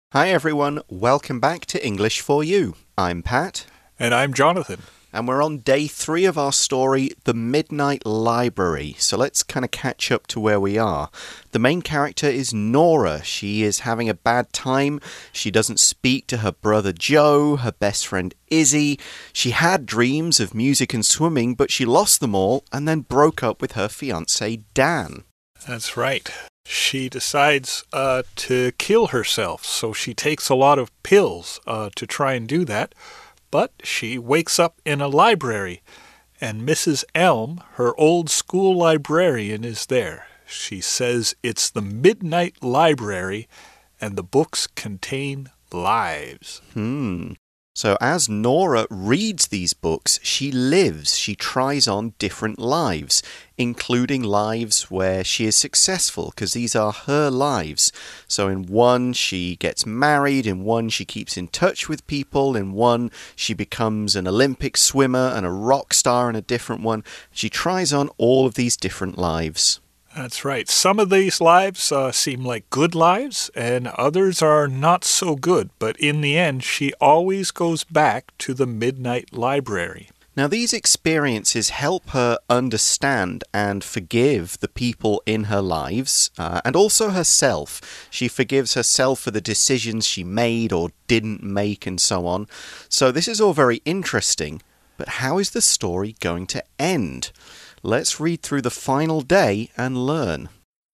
Hi everyone, welcome back to English for You. I'm Pat. And I'm Jonathan. And we're on day 3 of our story, The Midnight Library. So let's kind of catch up to where we are. The main character is Nora. She is having a bad time. She doesn't speak to her brother Joe, her best friend Izzy. She had dreams of music and swimming, but she lost them all and then broke up with her fiancé Dan. That's right. She decides to kill herself, so she takes a lot of pills to try and do that. But she wakes up in a library, and Mrs. Elm, her old school librarian, is there. She says it's the Midnight Library, and the books contain lives. So as Nora reads these books, she lives, she tries on different lives, including lives where she is successful, because these are her lives. So in one, she gets married, in one, she keeps in touch with people, in one, she becomes an Olympic swimmer and a rock star in a different one. She tries on all of these different lives. That's right. Some of these lives seem like good lives, and others are not so good. But in the end, she always goes back to the Midnight Library. Now, these experiences help her understand and forgive the people in her lives, and also herself. She forgives herself for the decisions she made or didn't make and so on. So this is all very interesting, but how is the story going to end? Let's read through the final day and learn.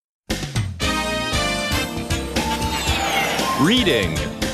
Reading.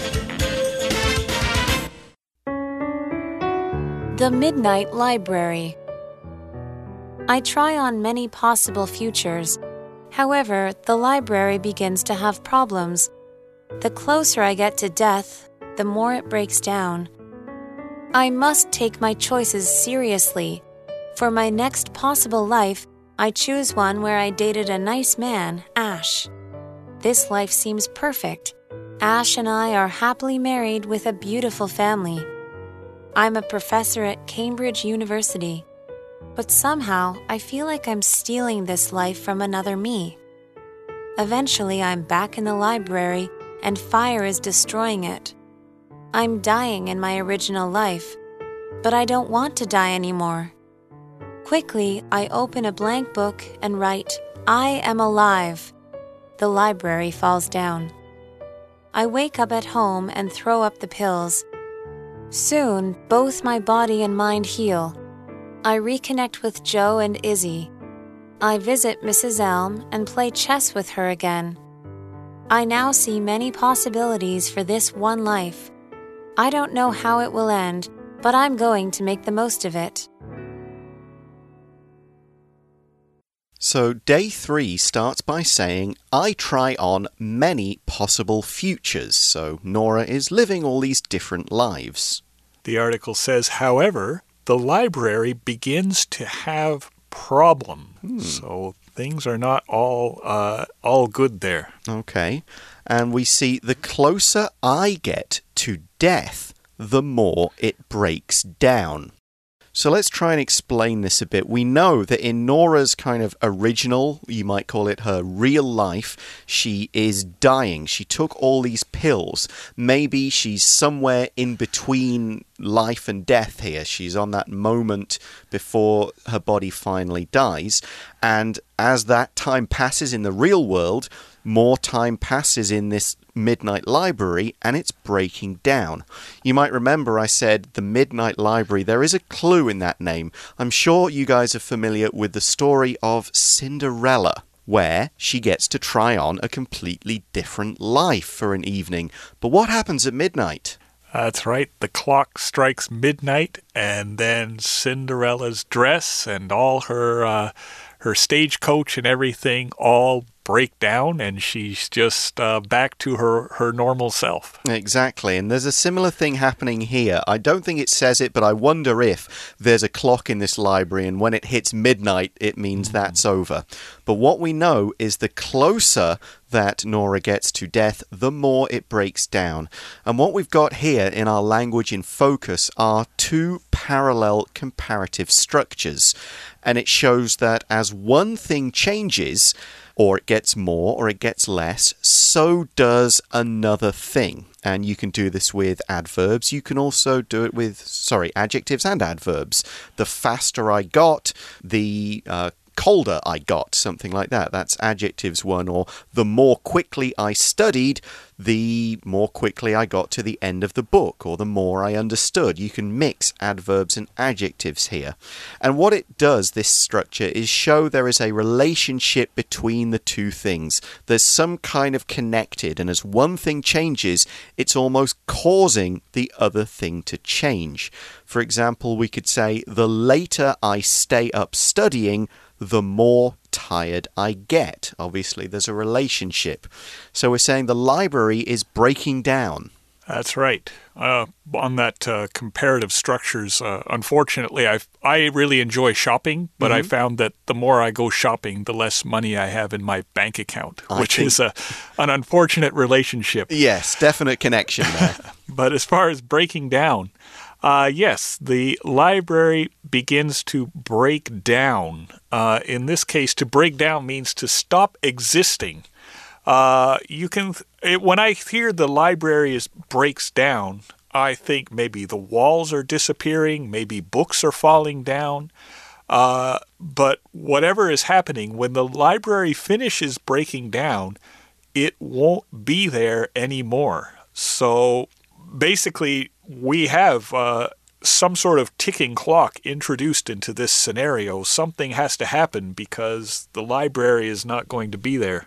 The Midnight Library. I try on many possible futures. However, the library begins to have problems. The closer I get to death, the more it breaks down. I must take my choices seriously. For my next possible life, I choose one where I dated a nice man, Ash. This life seems perfect. Ash and I are happily married with a beautiful family. I'm a professor at Cambridge University. But somehow, I feel like I'm stealing this life from another me. Eventually, I'm back in the library, and fire is destroying it. I'm dying in my original life, but I don't want to die anymore. Quickly, I open a blank book and write, I am alive. The library falls down. I wake up at home and throw up the pills. Soon, both my body and mind heal. I reconnect with Joe and Izzy. I visit Mrs. Elm and play chess with her again. I now see many possibilities for this one life. I don't know how it will end, but I'm going to make the most of it. So day 3 starts by saying, I try on many possible futures. So Nora is living all these different lives. The article says, however, the library begins to have problems. So things are not all good there. Okay. And we see the closer I get to death, the more it breaks down. So let's try and explain this a bit. We know that in Nora's kind of original, you might call it her real life, she is dying. She took all these pills. Maybe she's somewhere in between life and death here. She's on that moment before her body finally dies. And as that time passes in the real world, more time passes in this Midnight Library and it's breaking down. You might remember I said the Midnight Library. There is a clue in that name. I'm sure you guys are familiar with the story of Cinderella, where she gets to try on a completely different life for an evening. But what happens at midnight? That's right. The clock strikes midnight, and then Cinderella's dress and all her stagecoach and everything all break down, and she's just back to her normal self. Exactly, and there's a similar thing happening here. I don't think it says it, but I wonder if there's a clock in this library, and when it hits midnight, it means that's over. But what we know is the closer that Nora gets to death, the more it breaks down. And what we've got here in our language in focus are two parallel comparative structures. And it shows that as one thing changes, or it gets more or it gets less, so does another thing. And you can do this with adverbs. You can also do it with, adjectives and adverbs. The faster I got, the colder I got, something like that. That's adjectives one. Or the more quickly I studied, the more quickly I got to the end of the book, or the more I understood. You can mix adverbs and adjectives here. And what it does, this structure, is show there is a relationship between the two things. There's some kind of connected, and as one thing changes, it's almost causing the other thing to change. For example, we could say, the later I stay up studying, the more tired I get. Obviously, there's a relationship. So we're saying the library is breaking down. That's right. On that comparative structures, unfortunately, I really enjoy shopping, but I found that the more I go shopping, the less money I have in my bank account, which is an unfortunate relationship. Yes, definite connection there. But as far as breaking down, yes, the library begins to break down. In this case, to break down means to stop existing. When I hear the library breaks down, I think maybe the walls are disappearing, maybe books are falling down. But whatever is happening, when the library finishes breaking down, it won't be there anymore. So basically, we have some sort of ticking clock introduced into this scenario. Something has to happen because the library is not going to be there.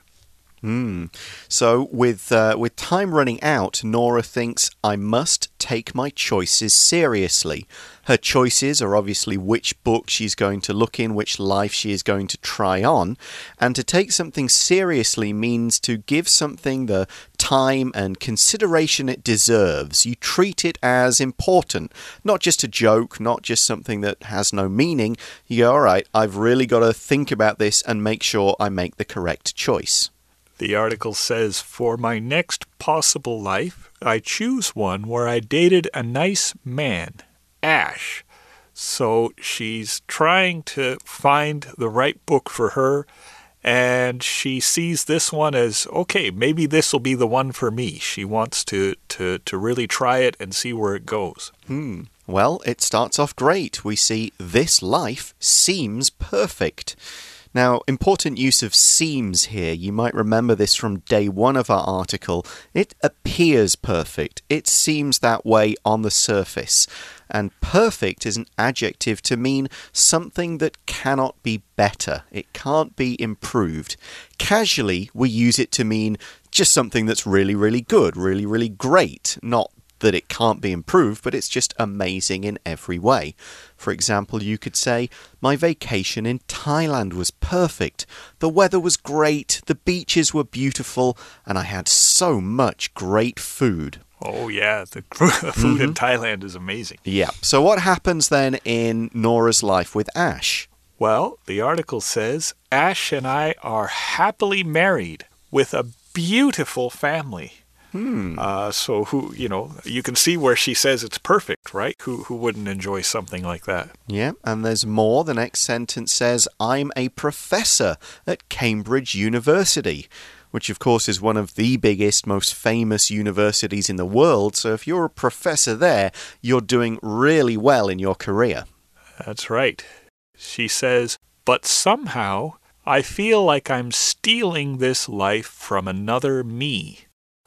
So with time running out, Nora thinks, I must take my choices seriously. Her choices are obviously which book she's going to look in, which life she is going to try on. And to take something seriously means to give something the time and consideration it deserves. You treat it as important, not just a joke, not just something that has no meaning. You go, all right, I've really got to think about this and make sure I make the correct choice. The article says, for my next possible life, I choose one where I dated a nice man, Ash. So she's trying to find the right book for her, and she sees this one as, okay, maybe this will be the one for me. She wants to really try it and see where it goes. Well, it starts off great. We see this life seems perfect. Now, important use of seems here. You might remember this from day one of our article. It appears perfect. It seems that way on the surface. And perfect is an adjective to mean something that cannot be better. It can't be improved. Casually, we use it to mean just something that's really, really good, really, really great, not that it can't be improved, but it's just amazing in every way. For example, you could say, my vacation in Thailand was perfect. The weather was great, the beaches were beautiful, and I had so much great food. Oh, yeah, the food in Thailand is amazing. Yeah, so what happens then in Nora's life with Ash? Well, the article says, Ash and I are happily married with a beautiful family. So you can see where she says it's perfect, right? Who wouldn't enjoy something like that? Yeah, and there's more. The next sentence says, I'm a professor at Cambridge University, which of course is one of the biggest, most famous universities in the world. So if you're a professor there, you're doing really well in your career. That's right. She says, but somehow I feel like I'm stealing this life from another me.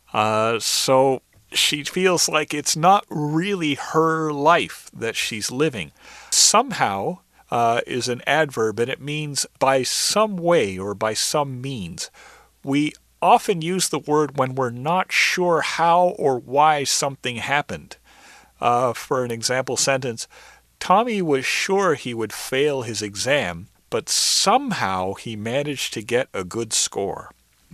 So she feels like it's not really her life that she's living. Somehow is an adverb, and it means by some way or by some means. We often use the word when we're not sure how or why something happened. For an example sentence, Tommy was sure he would fail his exam, but somehow he managed to get a good score.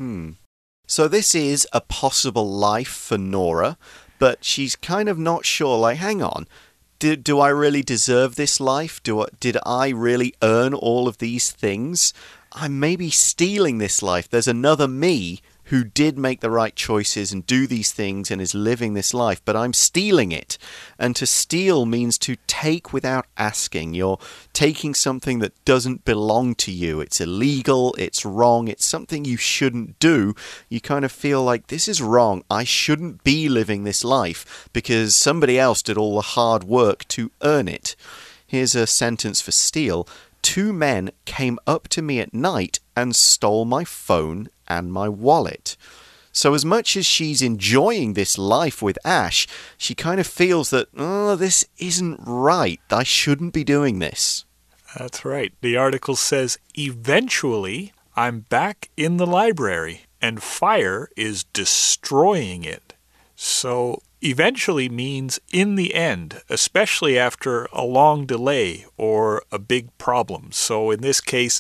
So this is a possible life for Nora, but she's kind of not sure, like, hang on, do I really deserve this life? Did I really earn all of these things? I'm maybe stealing this life. There's another me who did make the right choices and do these things and is living this life, but I'm stealing it. And to steal means to take without asking. You're taking something that doesn't belong to you. It's illegal, it's wrong, it's something you shouldn't do. You kind of feel like this is wrong. I shouldn't be living this life because somebody else did all the hard work to earn it. Here's a sentence for steal. 2 men came up to me at night and stole my phone and my wallet. So as much as she's enjoying this life with Ash, she kind of feels that, oh, this isn't right. I shouldn't be doing this. That's right. The article says, eventually, I'm back in the library and fire is destroying it. So eventually means in the end, especially after a long delay or a big problem. So in this case,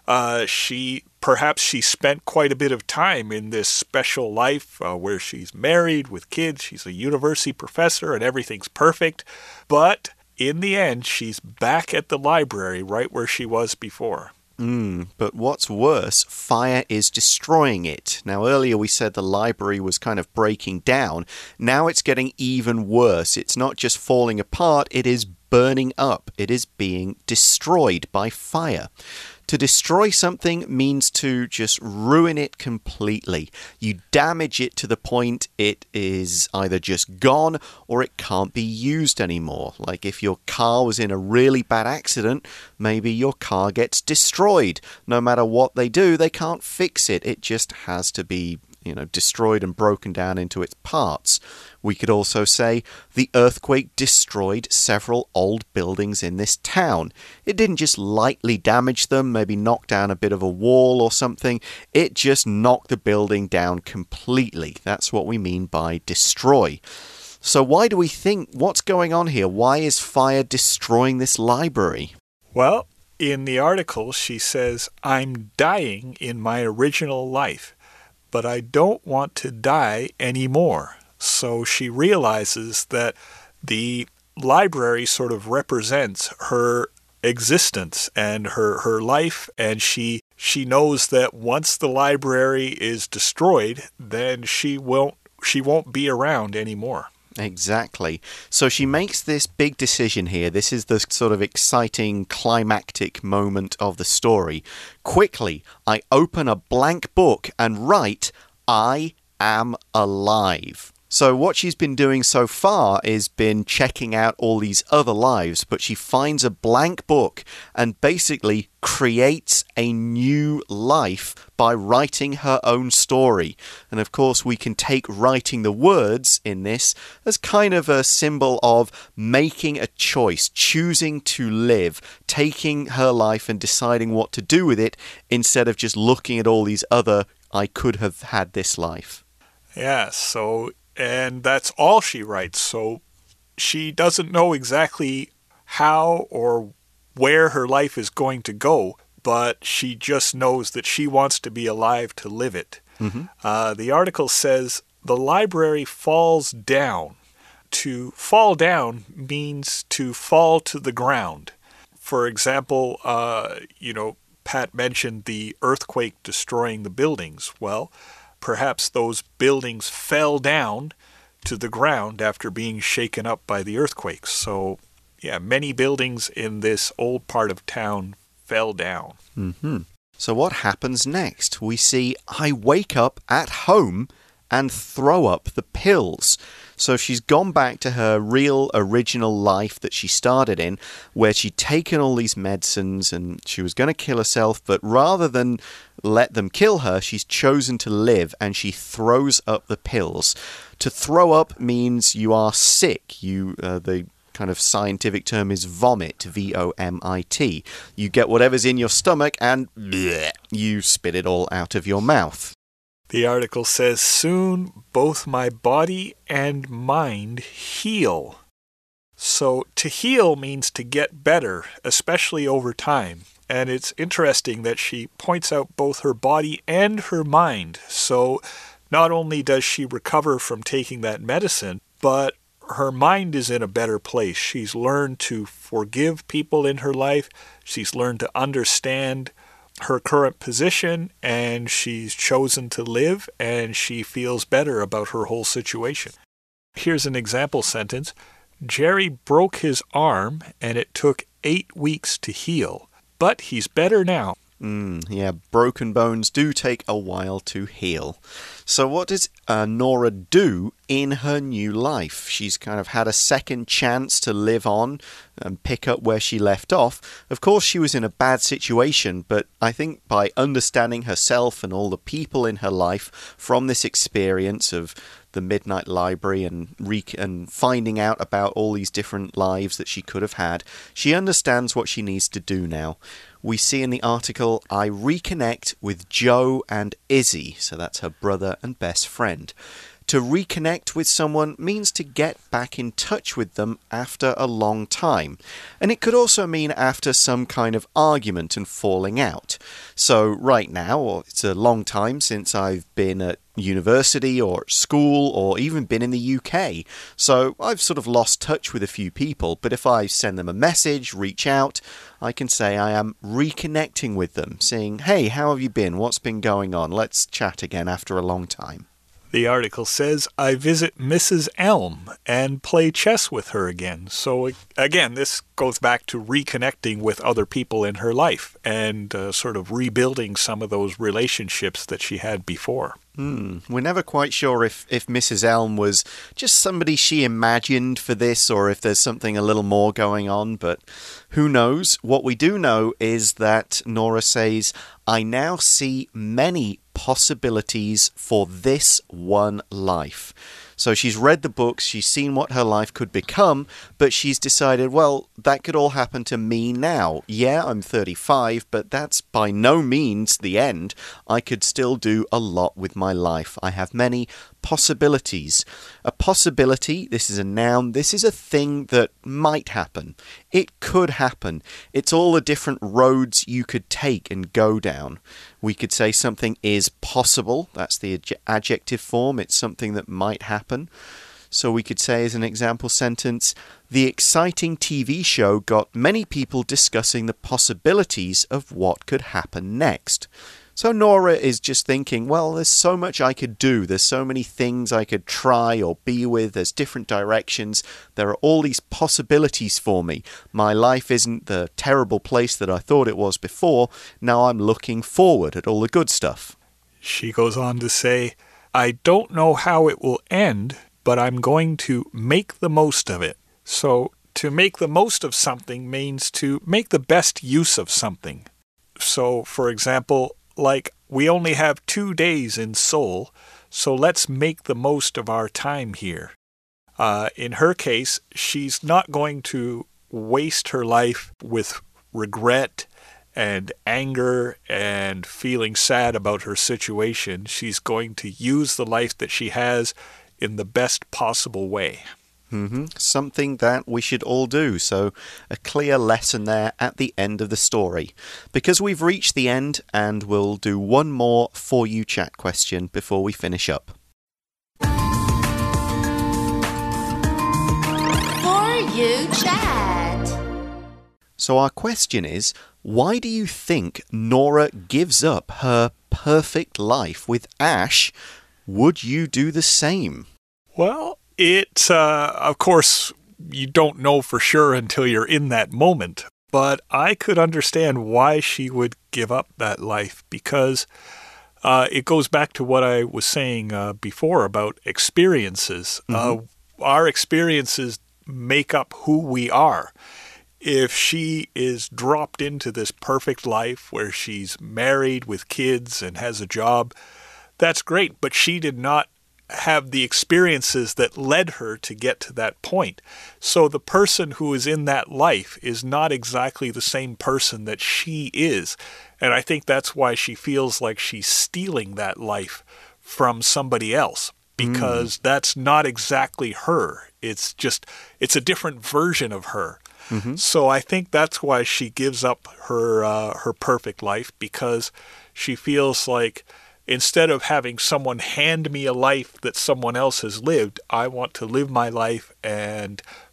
perhaps she spent quite a bit of time in this special life where she's married with kids, she's a university professor and everything's perfect. But in the end, she's back at the library right where she was before. But what's worse, fire is destroying it. Now, earlier we said the library was kind of breaking down. Now it's getting even worse. It's not just falling apart, it is burning up. It is being destroyed by fire. To destroy something means to just ruin it completely. You damage it to the point it is either just gone or it can't be used anymore. Like if your car was in a really bad accident, maybe your car gets destroyed. No matter what they do, they can't fix it. It just has to be destroyed and broken down into its parts. We could also say the earthquake destroyed several old buildings in this town. It didn't just lightly damage them, maybe knock down a bit of a wall or something. It just knocked the building down completely. That's what we mean by destroy. So why do we think, what's going on here? Why is fire destroying this library? Well, in the article, she says, I'm dying in my original life, but I don't want to die anymore. So she realizes that the library sort of represents her existence and her life, and she knows that once the library is destroyed, then she won't be around anymore. Exactly. So she makes this big decision here. This is the sort of exciting climactic moment of the story. Quickly, I open a blank book and write, I am alive. So what she's been doing so far is been checking out all these other lives, but she finds a blank book and basically creates a new life by writing her own story. And of course, we can take writing the words in this as kind of a symbol of making a choice, choosing to live, taking her life and deciding what to do with it instead of just looking at all these other, I could have had this life. Yeah, and that's all she writes. So she doesn't know exactly how or where her life is going to go, but she just knows that she wants to be alive to live it. Mm-hmm. The article says, the library falls down. To fall down means to fall to the ground. For example, Pat mentioned the earthquake destroying the buildings. Well, perhaps those buildings fell down to the ground after being shaken up by the earthquakes. So, yeah, many buildings in this old part of town fell down. Mm-hmm. So what happens next? We see, I wake up at home and throw up the pills. So she's gone back to her real original life that she started in, where she'd taken all these medicines and she was going to kill herself, but rather than let them kill her, she's chosen to live and she throws up the pills. To throw up means you are sick. The kind of scientific term is vomit, V-O-M-I-T. You get whatever's in your stomach and bleh, you spit it all out of your mouth. The article says, soon both my body and mind heal. So to heal means to get better, especially over time. And it's interesting that she points out both her body and her mind. So not only does she recover from taking that medicine, but her mind is in a better place. She's learned to forgive people in her life. She's learned to understand her current position, and she's chosen to live, and she feels better about her whole situation. Here's an example sentence. Jerry broke his arm, and it took 8 weeks to heal, but he's better now. Yeah, broken bones do take a while to heal. So what does Nora do in her new life? She's kind of had a second chance to live on and pick up where she left off. Of course, she was in a bad situation, but I think by understanding herself and all the people in her life from this experience of the Midnight Library and finding out about all these different lives that she could have had, she understands what she needs to do now. We see in the article, I reconnect with Joe and Izzy, so that's her brother and best friend. To reconnect with someone means to get back in touch with them after a long time. And it could also mean after some kind of argument and falling out. So right now, it's a long time since I've been at university or school or even been in the UK. So I've sort of lost touch with a few people, but if I send them a message, reach out, I can say I am reconnecting with them, saying, hey, how have you been? What's been going on? Let's chat again after a long time. The article says, I visit Mrs. Elm and play chess with her again. So again, this goes back to reconnecting with other people in her life and sort of rebuilding some of those relationships that she had before. We're never quite sure if Mrs. Elm was just somebody she imagined for this or if there's something a little more going on, but who knows? What we do know is that Nora says, I now see many possibilities for this one life. So she's read the books, she's seen what her life could become, but she's decided, well, that could all happen to me now. Yeah, I'm 35, but that's by no means the end. I could still do a lot with my life. I have many possibilities. A possibility, this is a noun, this is a thing that might happen. It could happen. It's all the different roads you could take and go down. We could say something is possible. That's the adjective form. It's something that might happen. So we could say as an example sentence, the exciting TV show got many people discussing the possibilities of what could happen next. So Nora is just thinking, well, there's so much I could do. There's so many things I could try or be with. There's different directions. There are all these possibilities for me. My life isn't the terrible place that I thought it was before. Now I'm looking forward at all the good stuff. She goes on to say, I don't know how it will end, but I'm going to make the most of it. So to make the most of something means to make the best use of something. So, for example, like we only have 2 days in Seoul, so let's make the most of our time here. In her case, she's not going to waste her life with regret and anger and feeling sad about her situation. She's going to use the life that she has in the best possible way. Something that we should all do. So a clear lesson there at the end of the story. Because we've reached the end, and we'll do one more For You Chat question before we finish up. For You Chat. So our question is, why do you think Nora gives up her perfect life with Ash? Would you do the same? Well, of course, you don't know for sure until you're in that moment. But I could understand why she would give up that life because it goes back to what I was saying before about experiences. Our experiences make up who we are. If she is dropped into this perfect life where she's married with kids and has a job, that's great. But she did not have the experiences that led her to get to that point. So the person who is in that life is not exactly the same person that she is. And I think that's why she feels like she's stealing that life from somebody else, because that's not exactly her. It's a different version of her. So I think that's why she gives up her perfect life, because she feels like instead of having someone hand me a life that someone else has lived, I want to live my life and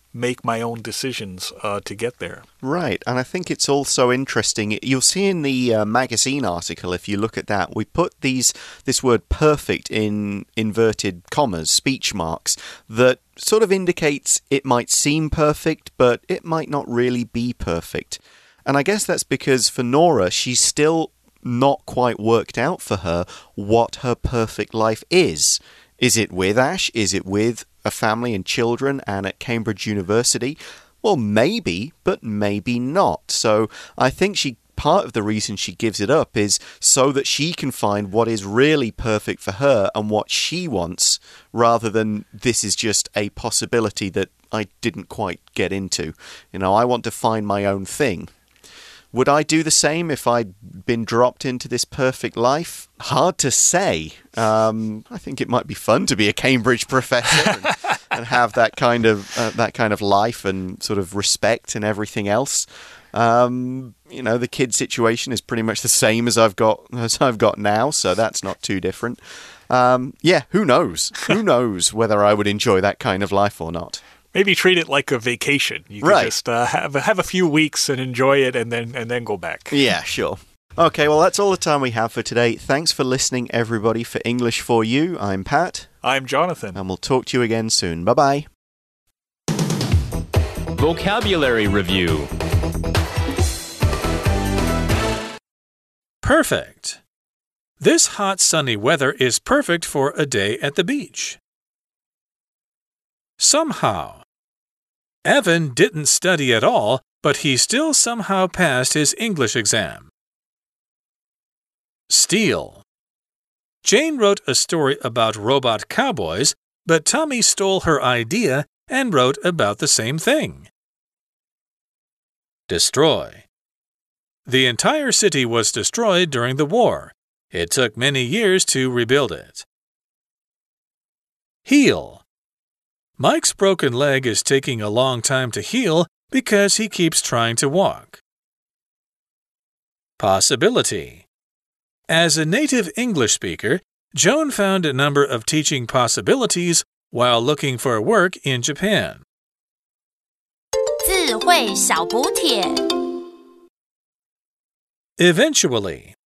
make my own decisions to get there. Right, and I think it's also interesting. You'll see in the magazine article, if you look at that, we put this word perfect in inverted commas, speech marks, that sort of indicates it might seem perfect, but it might not really be perfect. And I guess that's because for Nora, she's still not quite worked out for her what her perfect life is. Is it with Ash? Is it with a family and children and at Cambridge University? Well, maybe, but maybe not. So I think part of the reason she gives it up is so that she can find what is really perfect for her and what she wants, rather than this is just a possibility that I didn't quite get into. I want to find my own thing. Would I do the same if I'd been dropped into this perfect life? Hard to say. I think it might be fun to be a Cambridge professor and have that kind of life and sort of respect and everything else. The kid situation is pretty much the same as I've got now, so that's not too different. Who knows? Who knows whether I would enjoy that kind of life or not? Maybe treat it like a vacation. You can just have a few weeks and enjoy it and then go back. Yeah, sure. Okay, well, that's all the time we have for today. Thanks for listening, everybody. For English for You, I'm Pat. I'm Jonathan. And we'll talk to you again soon. Bye-bye. Vocabulary Review. Perfect. This hot sunny weather is perfect for a day at the beach. Somehow. Evan didn't study at all, but he still somehow passed his English exam. Steal. Jane wrote a story about robot cowboys, but Tommy stole her idea and wrote about the same thing. Destroy. The entire city was destroyed during the war. It took many years to rebuild it. Heal. Mike's broken leg is taking a long time to heal because he keeps trying to walk. Possibility. As a native English speaker, Joan found a number of teaching possibilities while looking for work in Japan. 智慧小补帖 Eventually.